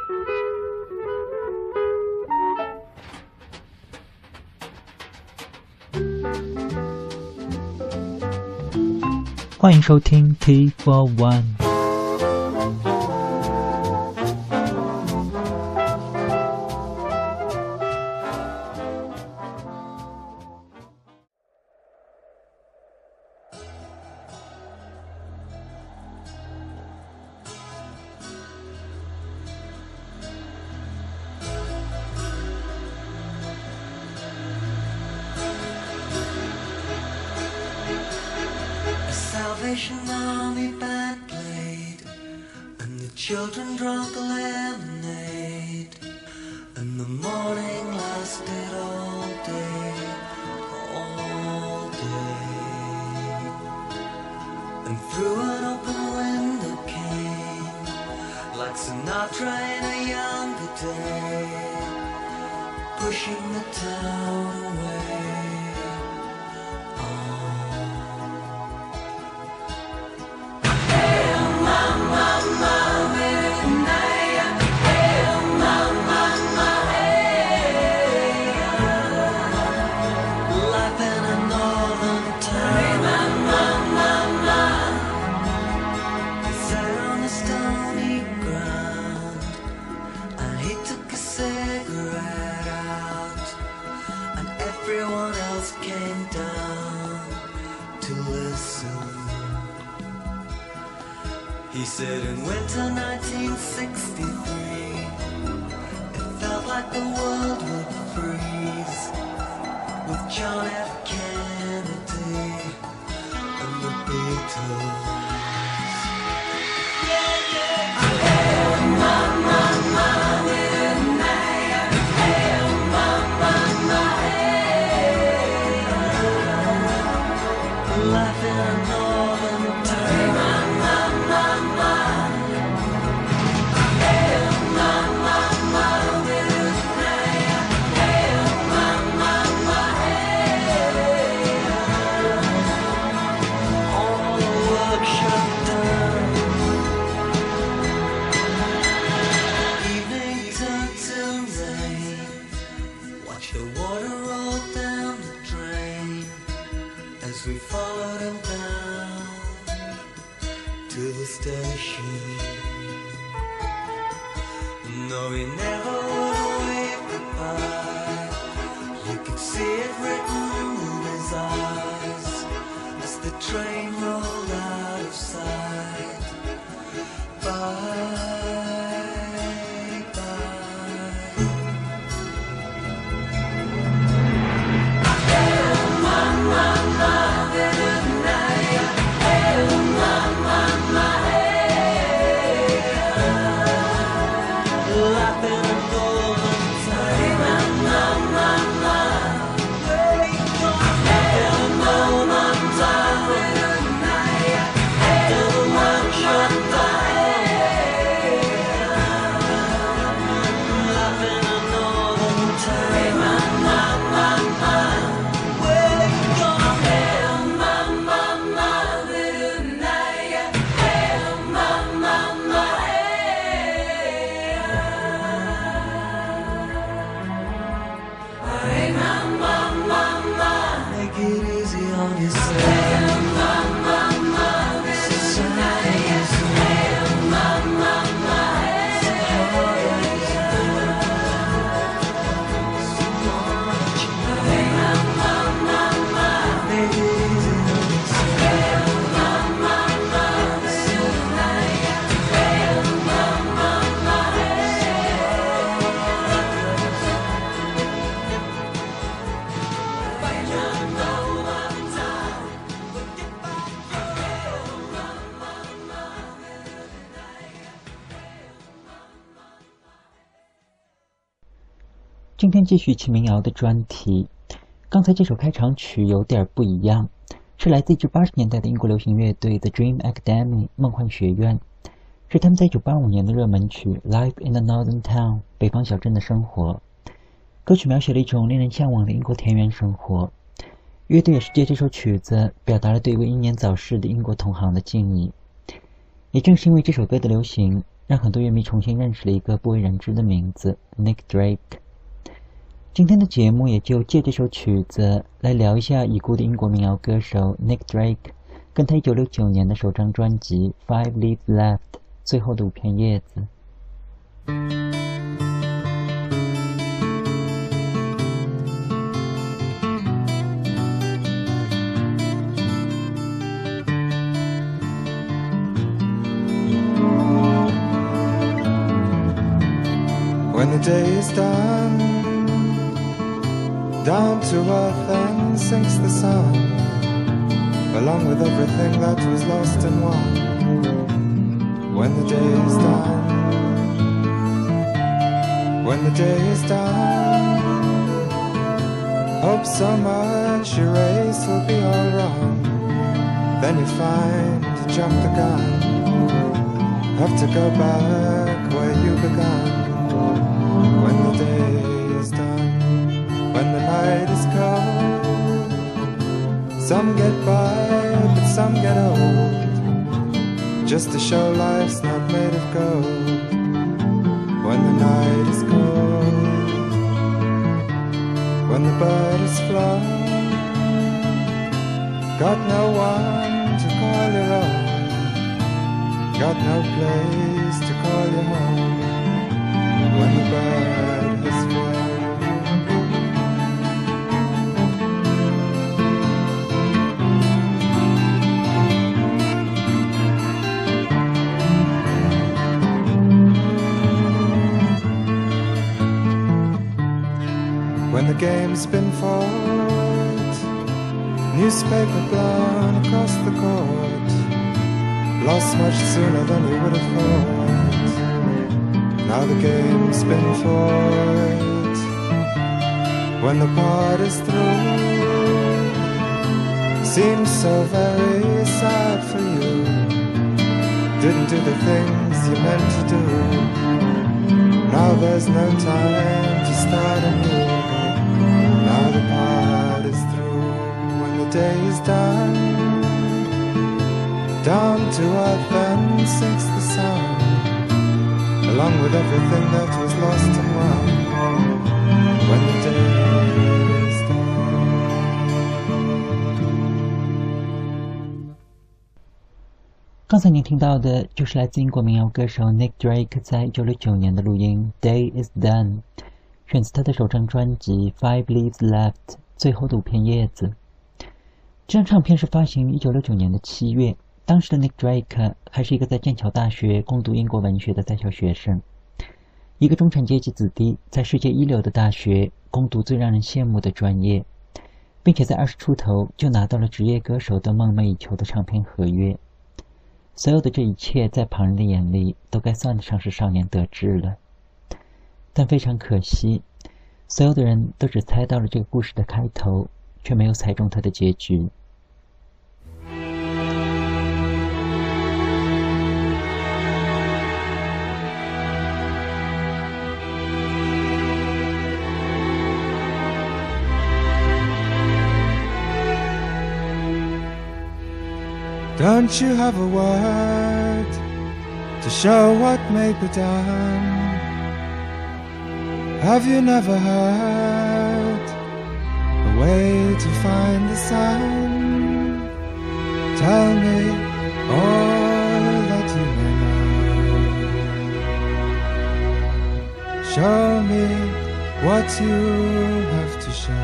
欢迎收听 T41。 Salvation Army band played, and the children drank lemonade, and the morning lasted all day, and through an open window came, like Sinatra in a younger day, pushing the town away. Everyone else came down to listen. He said in winter 1963, it felt like the world would freeze with John F. Kennedy and the Beatles. We followed him down to the station. No, he never would wave goodbye. You could see it written in his eyes as the train rolled out of sight. Bye. 今天继续起民谣的专题。刚才这首开场曲有点不一样，是来自1980年代的英国流行乐队 The Dream Academy 梦幻学院，是他们在1985年的热门曲 Life in the Northern Town 北方小镇的生活。歌曲描写了一种令人向往的英国田园生活。乐队也是借这首曲子表达了对一位英年早逝的英国同行的敬意。也正是因为这首歌的流行， 让很多乐迷重新认识了一个不为人知的名字 Nick Drake。今天的节目也就借这首曲子来聊一下已故的英国民谣歌手 Nick Drake 跟他1969年的首张专辑 Five Leaves Left 最后的5片叶子。 When the day is done, down to earth and sinks the sun, along with everything that was lost and won. When the day is done, when the day is done, hope so much your race will be all wrong. Then you find you jumped the gun, have to go back where you began. When the day is done, when the night is cold, some get by, but some get old, just to show life's not made of gold. When the night is cold, when the bird is flown, got no one to call your own, got no place to call your home. When the bird has flown, when the game's been fought, newspaper blown across the court, lost much sooner than you would have thought. Now the game's been fought. When the part is through, seems so very sad for you. Didn't do the things you meant to do. Now there's no time to start anew. Now the part is through. When the day is done, down to earth and sinks the sun, along with everything that was lost and won. When the day is done. 刚才您听到的就是来自英国民谣歌手 Nick Drake 在1969年的录音 Day is Done， 选自他的首张专辑 Five Leaves Left 最后的5片叶子。这张唱片是发行于1969年的7月，当时的 Nick Drake 还是一个在剑桥大学攻读英国文学的在校学生，一个中产阶级子弟在世界一流的大学攻读最让人羡慕的专业，并且在20出头就拿到了职业歌手都梦寐以求的唱片合约。所有的这一切在旁人的眼里都该算得上是少年得志了，但非常可惜，所有的人都只猜到了这个故事的开头，却没有猜中它的结局。 Don't you have a word to show what may be done? Have you never heard a way to find the sun? Tell me all that you may know. Show me what you have to show.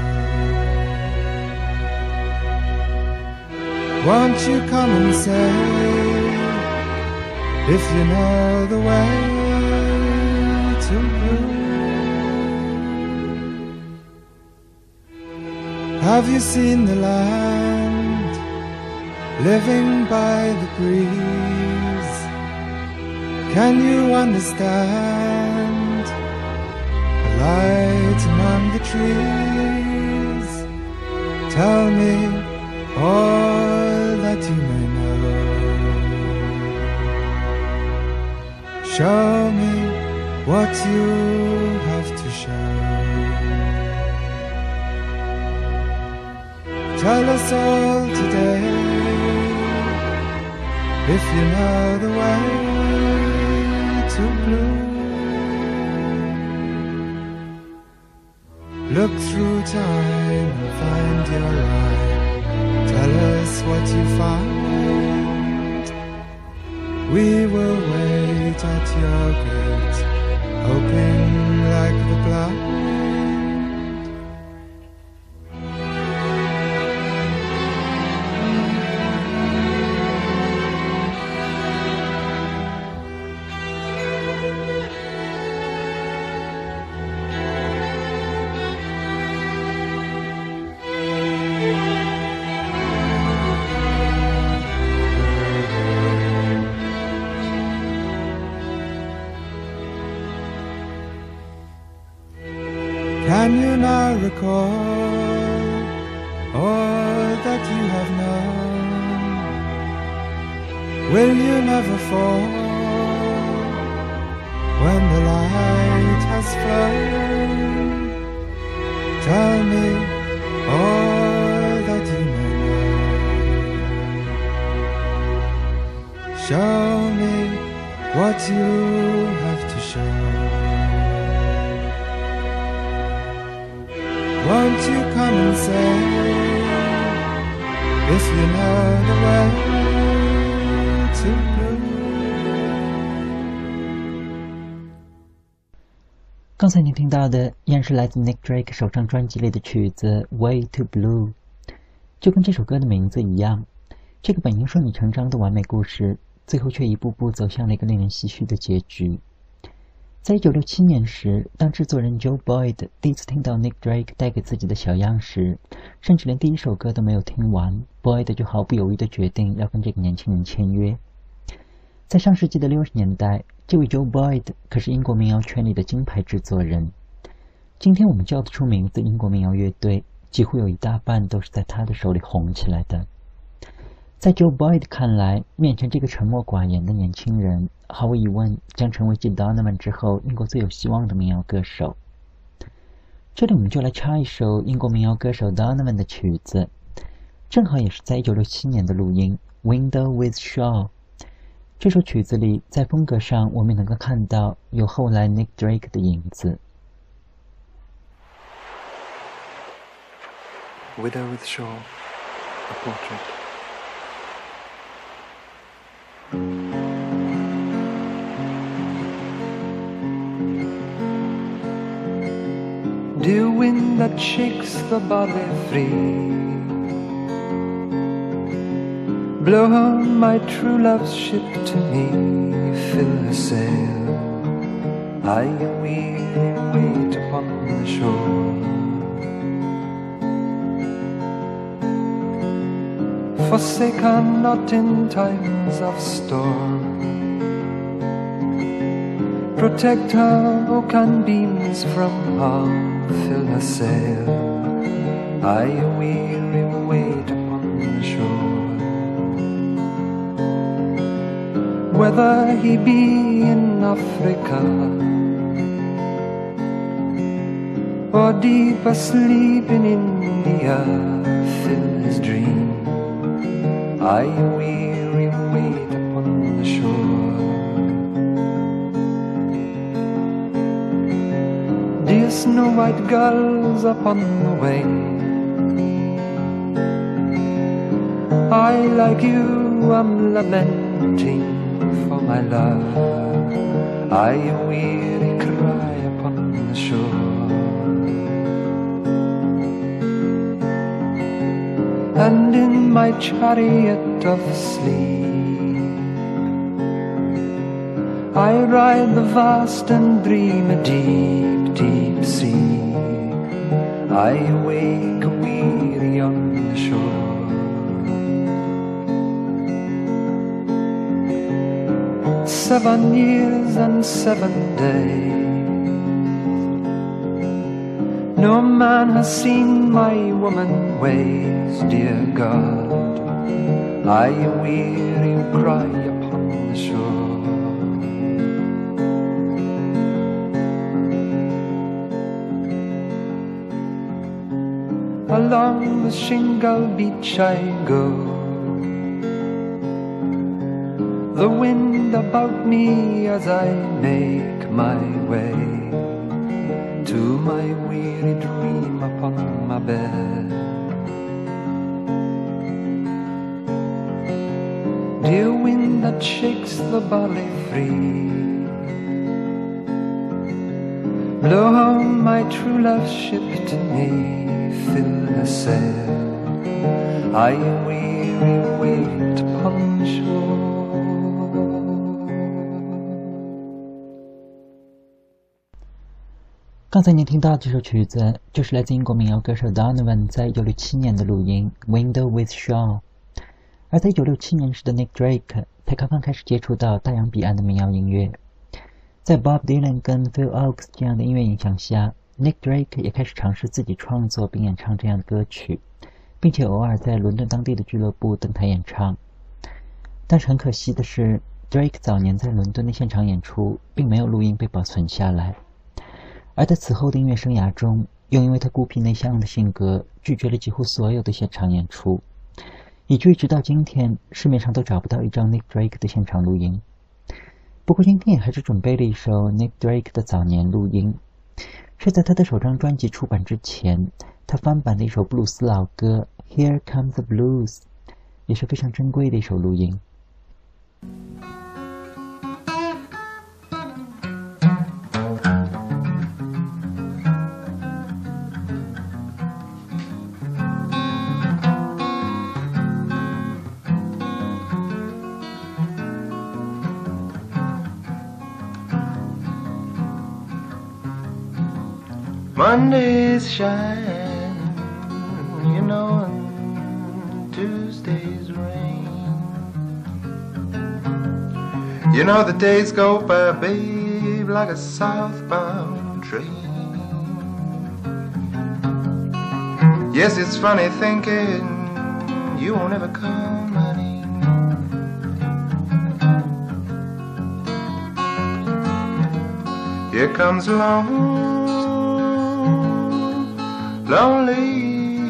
Won't you come and say if you know the way to blue? Have you seen the land living by the breeze? Can you understand the light among the trees? Tell me all that you may know. Show me what you have to show. Tell us all today if you know the way too blue. Look through time and find your eye. Tell us what you find. We will wait at your gate, hoping like the blind. Can you now recall all that you have known? Will you never fall when the light has flown? Tell me all that you may know. Show me what you have to show. Won't you come and say, if you know the way to blue? 刚才您听到的依然是来自 Nick Drake 首张专辑里的曲子 Way to Blue， 就跟这首歌的名字一样，这个本应顺理成章的完美故事，最后却一步步走向了一个令人唏嘘的结局。在1967年时，当制作人 Joe Boyd 第一次听到 Nick Drake 带给自己的小样时，甚至连第一首歌都没有听完， Boyd 就毫不犹豫地决定要跟这个年轻人签约。在上世纪的60年代，这位 Joe Boyd 可是英国民谣圈里的金牌制作人。今天我们叫得出名字英国民谣乐队，几乎有一大半都是在他的手里红起来的。在 Joe Boyd 看来，面前这个沉默寡言的年轻人，毫无疑问将成为继 Donovan 之后英国最有希望的民谣歌手。这里我们就来插一首英国民谣歌手 Donovan 的曲子，正好也是在1967年的录音 Window with Shaw。 这首曲子里，在风格上我们能够看到有后来 Nick Drake 的影子。 Widow with Shaw, a portrait. Dear wind that shakes the barley free, blow home my true love's ship to me, fill her sail, I weary wait upon the shore. Forsake her not in times of storm, protect her oak and beams from harm, fill her sail, I weary wait upon the shore. Whether he be in Africa or deep asleep in India, fill his dream, I weary wait upon the shore. Dear snow-white gulls upon the wing, I like you am lamenting for my love, I weary cry upon the shore. And in my chariot of sleep, I ride the vast and dream a deep, deep sea, I wake weary on the shore. Seven years and 7 days, no man has seen my woman ways, dear God, I weary cry upon the shore. Along the shingle beach I go, the wind about me as I make my way to my weary dream upon my bed. Dear wind that shakes the barley free, blow home my true love's ship to me, fill the sail, I am weary, wait upon shore. 刚才您听到这首曲子，就是来自英国民谣歌手 Donovan 在1967年的录音《Window with Shaw》。而在1967年时的 Nick Drake 才刚刚开始接触到大洋彼岸的民谣音乐。在 Bob Dylan 跟 Phil Ochs 这样的音乐影响下， Nick Drake 也开始尝试自己创作并演唱这样的歌曲，并且偶尔在伦敦当地的俱乐部登台演唱。但是很可惜的是， Drake 早年在伦敦的现场演出并没有录音被保存下来，而在此后的音乐生涯中，又因为他孤僻内向的性格，拒绝了几乎所有的现场演出，以至于直到今天市面上都找不到一张 Nick Drake 的现场录音。不过今天也还是准备了一首 Nick Drake 的早年录音，是在他的首张专辑出版之前，他翻版的一首布鲁斯老歌 Here Comes the Blues， 也是非常珍贵的一首录音。 Mondays shine, you know, and Tuesdays rain. You know the days go by, babe, like a southbound train. Yes, it's funny thinking you won't ever come, honey. Here comes along lonely,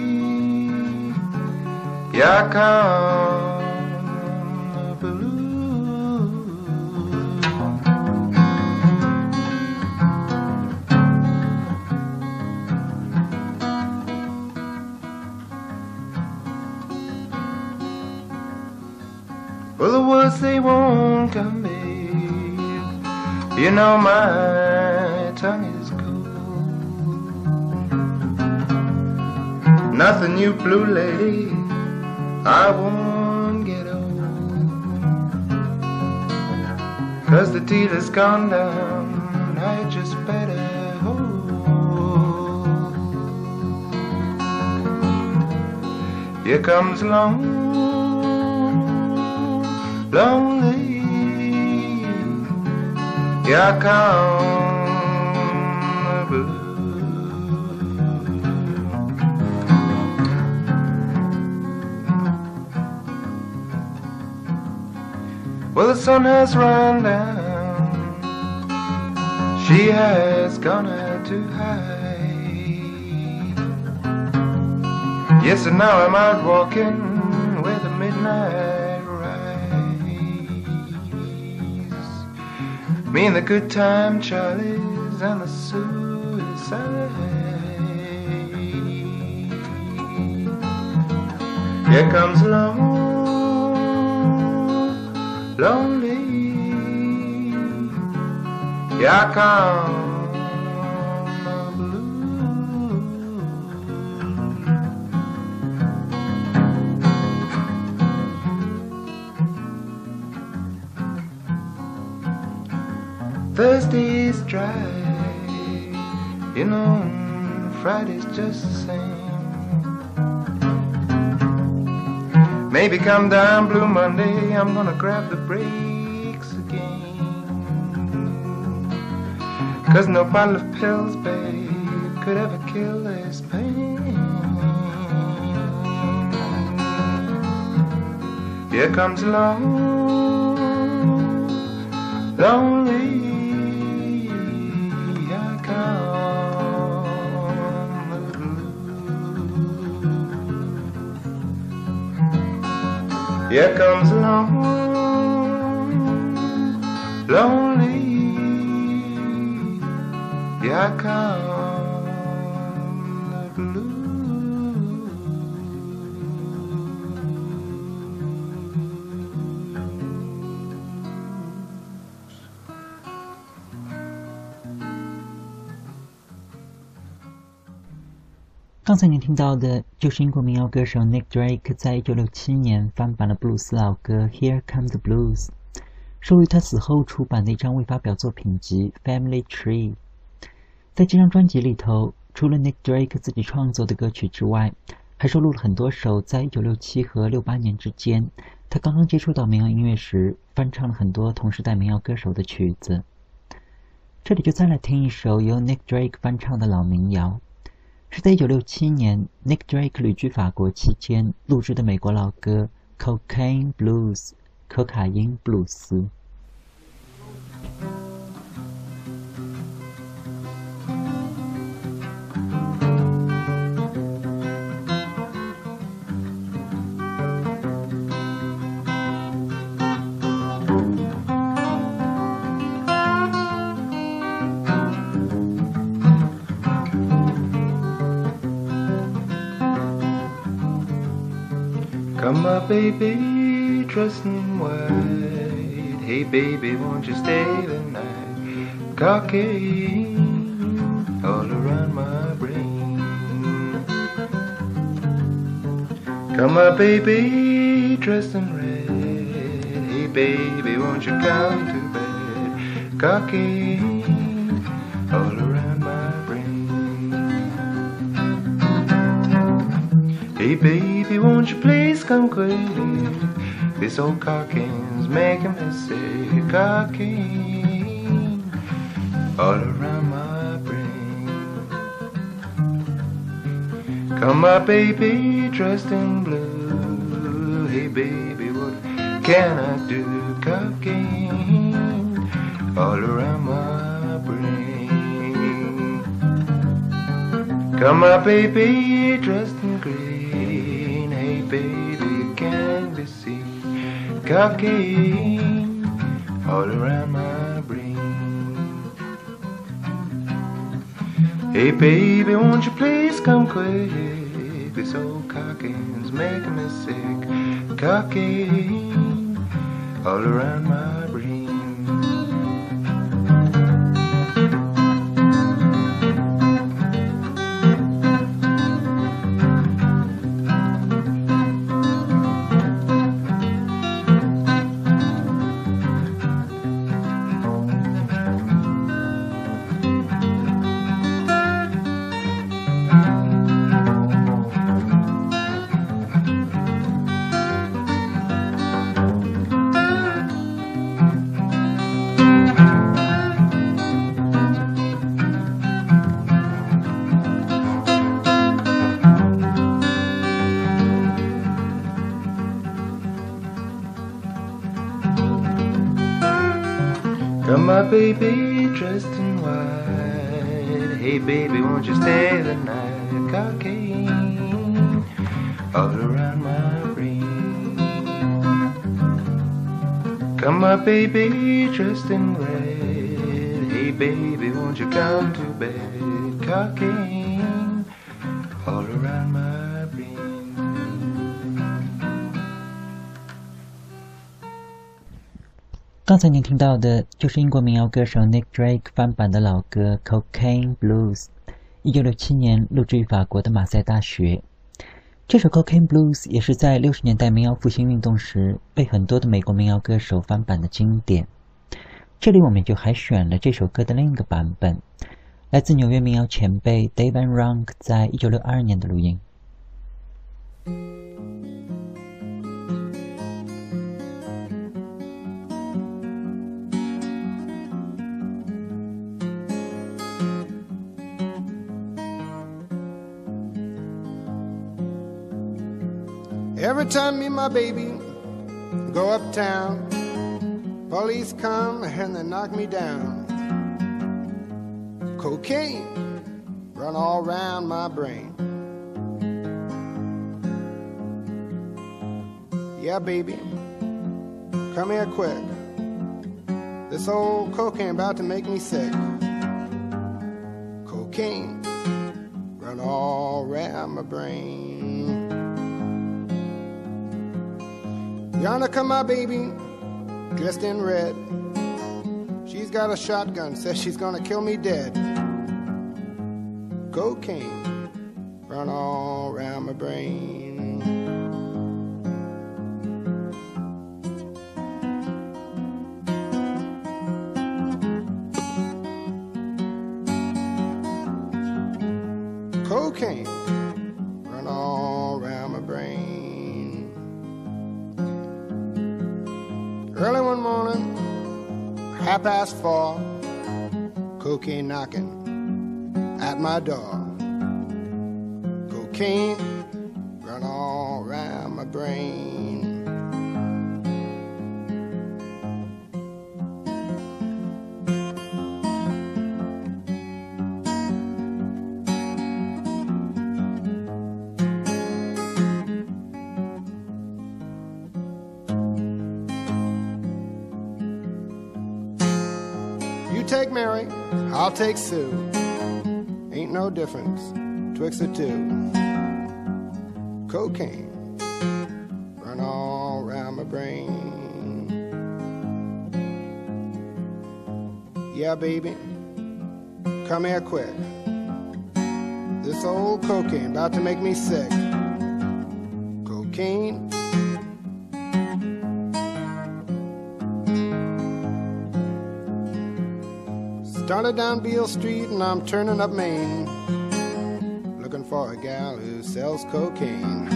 here come the blues. Well, the words they won't come, babe. You know my tongue is cold. Nothing, you blue lady, I won't get old. 'Cause the dealer's gone down, I just better hold. Here comes along lonely, here come the blues. Well, the sun has run down, she has gone out to hide. Yes, and now I'm out walking where the midnight rides. Me and the good time Charlies and the suicide. Here comes along lonely, here come the blues. Thursday's dry, you know, Friday's just the same. Maybe come down Blue Monday, I'm gonna grab the brakes again. 'Cause no bottle of pills, babe, could ever kill this pain. Here comes along lonely, here come the blues. Here comes along lonely. Here come the blues. 刚才您听到的就是英国民谣歌手 Nick Drake 在1967年翻版了布鲁斯老歌《Here Comes the Blues》，收录于他死后出版的一张未发表作品集《Family Tree》。在这张专辑里头，除了 Nick Drake 自己创作的歌曲之外，还收录了很多首在1967和68年之间他刚刚接触到民谣音乐时翻唱了很多同时代民谣歌手的曲子。这里就再来听一首由 Nick Drake 翻唱的老民谣，是在1967年 Nick Drake 旅居法国期间录制的美国老歌 Cocaine Blues 可卡因布鲁斯。 Come up, baby, dressed in white. Hey, baby, won't you stay the night? Cocaine all around my brain. Come up, baby, dressed in red. Hey, baby, won't you come to bed? Cocaine all around my brain. Hey, baby, won't you please come quick? This old cocaine's making me sick. Cocaine all around my brain. Come up, baby, dressed in blue. Hey, baby, what can I do? Cocaine all around my brain. Come up, baby, dressed in green. Hey, baby, can be seen. Cocaine all around my brain. Hey, baby, won't you please come quick? This old cocaine's making me sick. Cocaine all around my brain. Come my baby dressed in white. Hey baby, won't you stay the night? Cocaine all around my brain. Come my baby dressed in red. Hey baby, won't you come to bed? Cocaine all around my brain. 刚才您听到的就是英国民谣歌手 Nick Drake 翻版的老歌 Cocaine Blues， 1967年录制于法国的马赛大学。这首 Cocaine Blues 也是在60年代民谣复兴运动时被很多的美国民谣歌手翻版的经典。这里我们就还选了这首歌的另一个版本，来自纽约民谣前辈 Dave Van Ronk 在1962年的录音。 Every time me and my baby go uptown, police come and they knock me down. Cocaine run all around my brain. Yeah, baby, come here quick. This old cocaine about to make me sick. Cocaine run all around my brain. Yonder come my baby, dressed in red. She's got a shotgun, says she's gonna kill me dead. Cocaine run all around my brain. Cocaine run all around my brain. Early one morning, 4:30, cocaine knocking at my door. Cocaine run all around my brain. Take Mary, I'll take Sue. Ain't no difference twixt the two. Cocaine run all around my brain. Yeah, baby, come here quick. This old cocaine about to make me sick. Cocaine. Started down Beale Street and I'm turning up Main, looking for a gal who sells cocaine.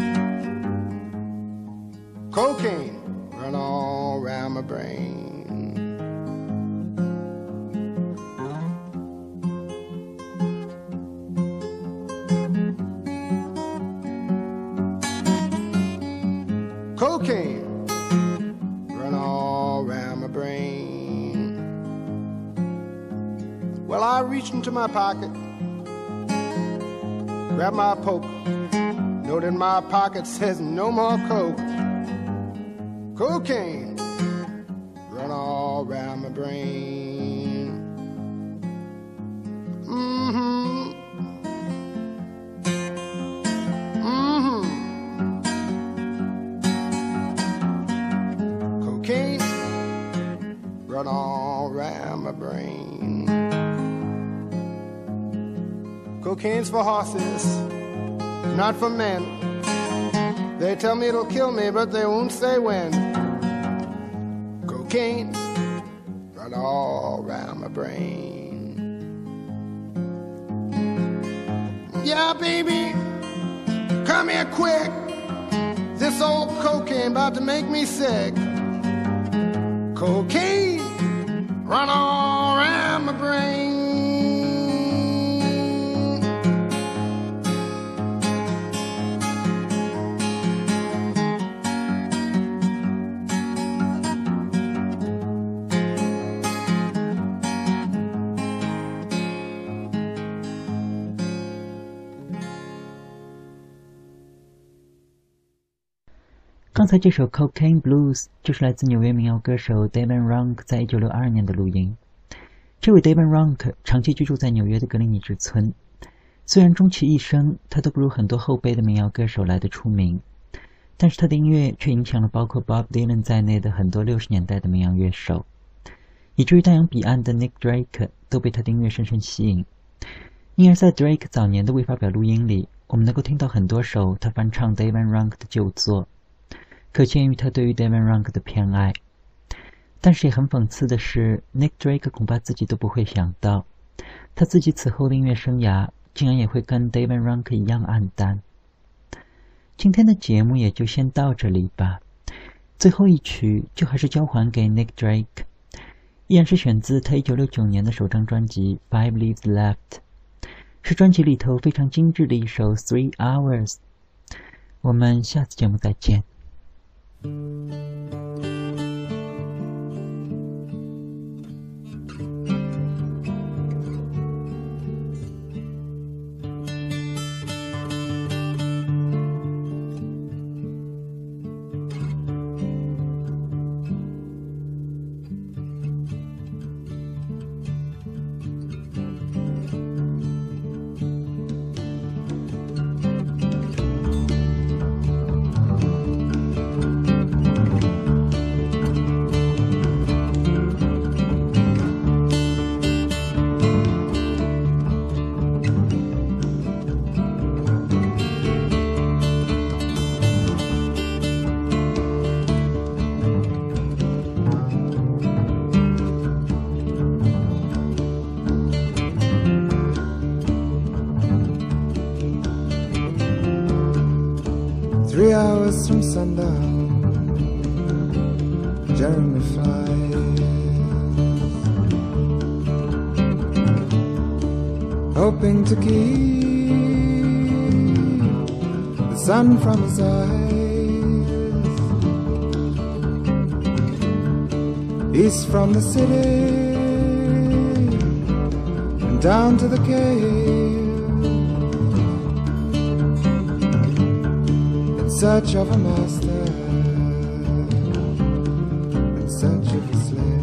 Cocaine run all around my brain. Cocaine run all around my brain. Well, I reached into my pocket, grabbed my poke. Note in my pocket says no more coke. Cocaine run all around my brain. Mm-hmm. Mm-hmm. Cocaine run all around my brain. Cocaine's for horses, not for men. They tell me it'll kill me, but they won't say when. Cocaine run all around my brain. Yeah, baby, come here quick. This old cocaine about to make me sick. Cocaine run all around my brain. 刚才这首 Cocaine Blues 就是来自纽约民谣歌手 David Rank 在1962年的录音。这位 David Rank 长期居住在纽约的格林尼治村，虽然终其一生他都不如很多后辈的民谣歌手来得出名，但是他的音乐却影响了包括 Bob Dylan 在内的很多60年代的民谣乐手，以至于大洋彼岸的 Nick Drake 都被他的音乐深深吸引。因而在 Drake 早年的未发表录音里，我们能够听到很多首他翻唱 David Rank 的旧作，可见于他对于 David Rank 的偏爱。但是也很讽刺的是 Nick Drake 恐怕自己都不会想到，他自己此后的音乐生涯竟然也会跟 David Rank 一样黯淡。今天的节目也就先到这里吧，最后一曲就还是交还给 Nick Drake， 依然是选自他1969年的首张专辑 Five Leaves Left， 是专辑里头非常精致的一首 Three Hours。 我们下次节目再见。 hours from sundown, Jeremy flies, hoping to keep the sun from his eyes. East from the city and down to the cave, in search of a master, in search of a slave.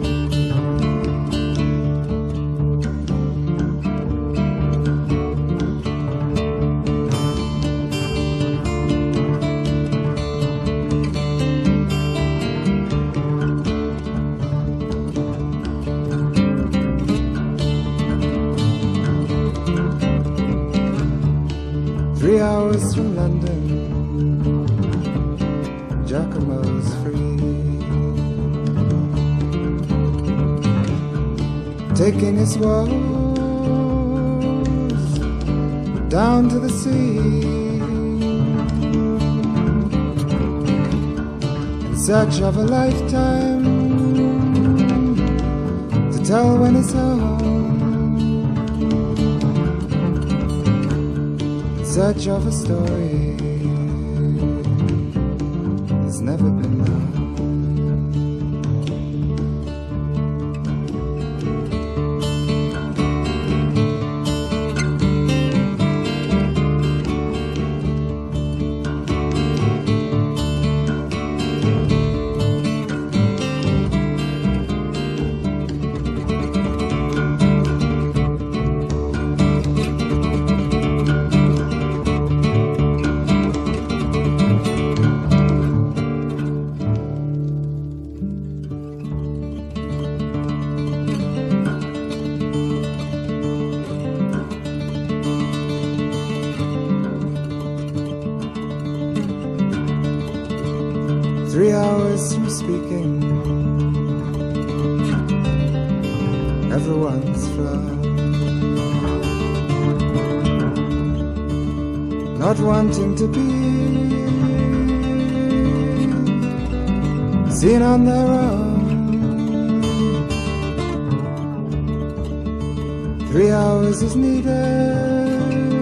3 hours from London, Giacomo's free, taking his woes down to the sea, in search of a lifetime to tell when he's home, in search of a story that's never been known. 3 hours from speaking, everyone's flown, not wanting to be seen on their own. 3 hours is needed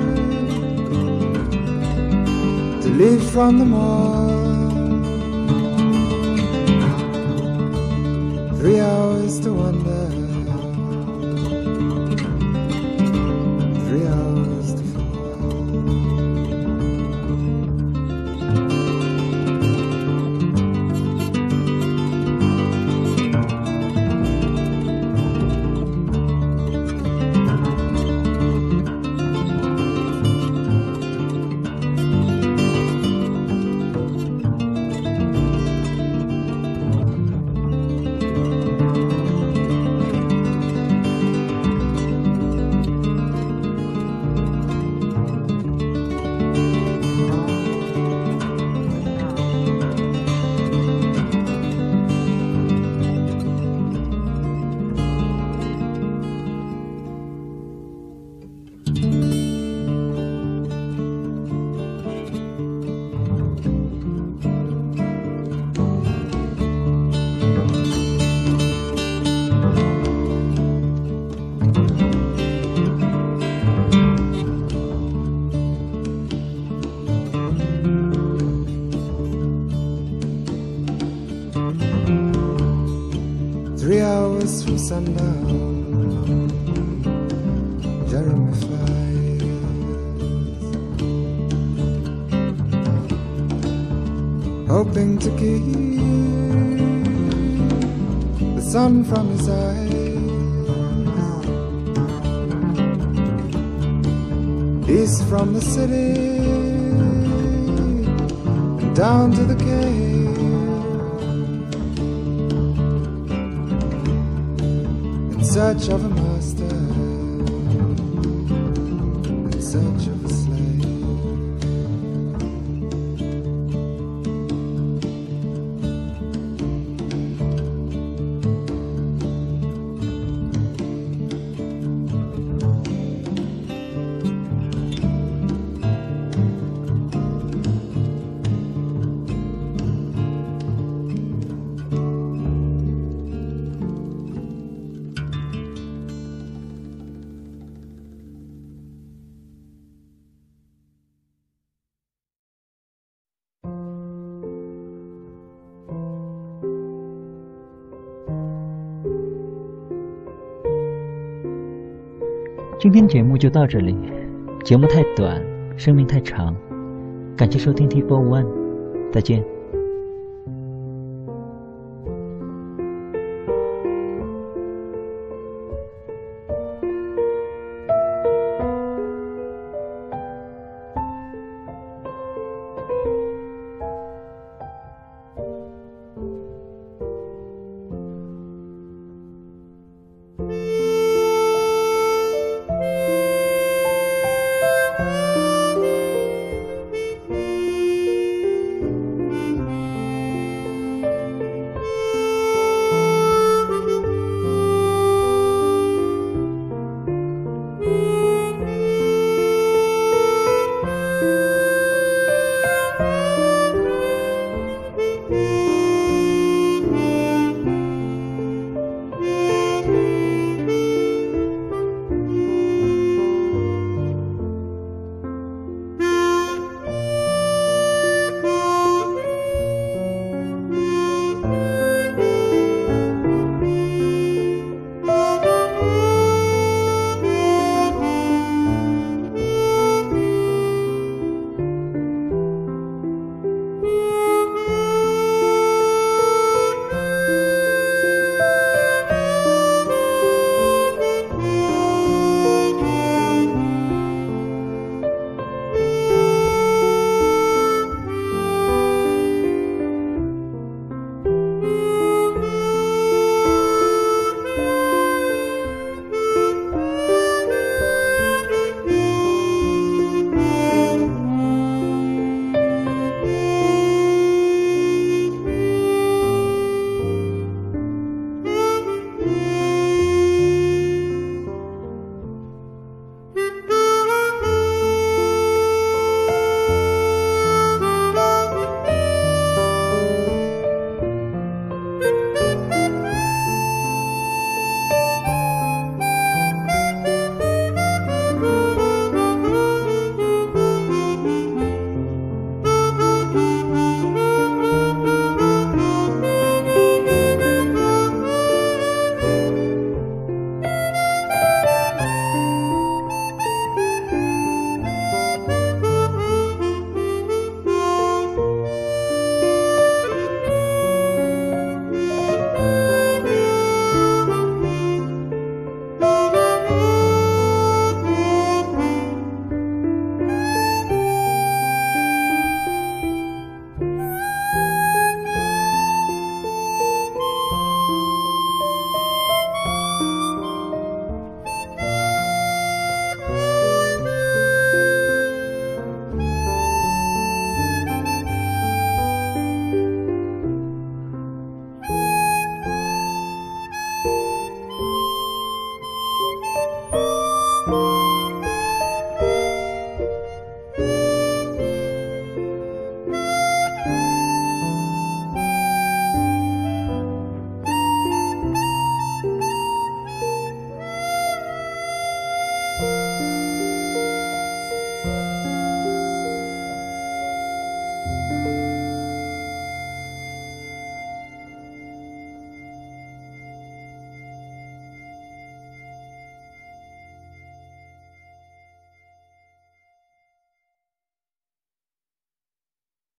to leave from the mall. 3 hours to wonder, 3 hours to fall. From sundown, Jeremy flies, hoping to keep the sun from his eyes. East from the city and down to the cave, in search of a master, in search of a slave. 今天节目就到这里，节目太短，生命太长，感谢收听 T4One， 再见。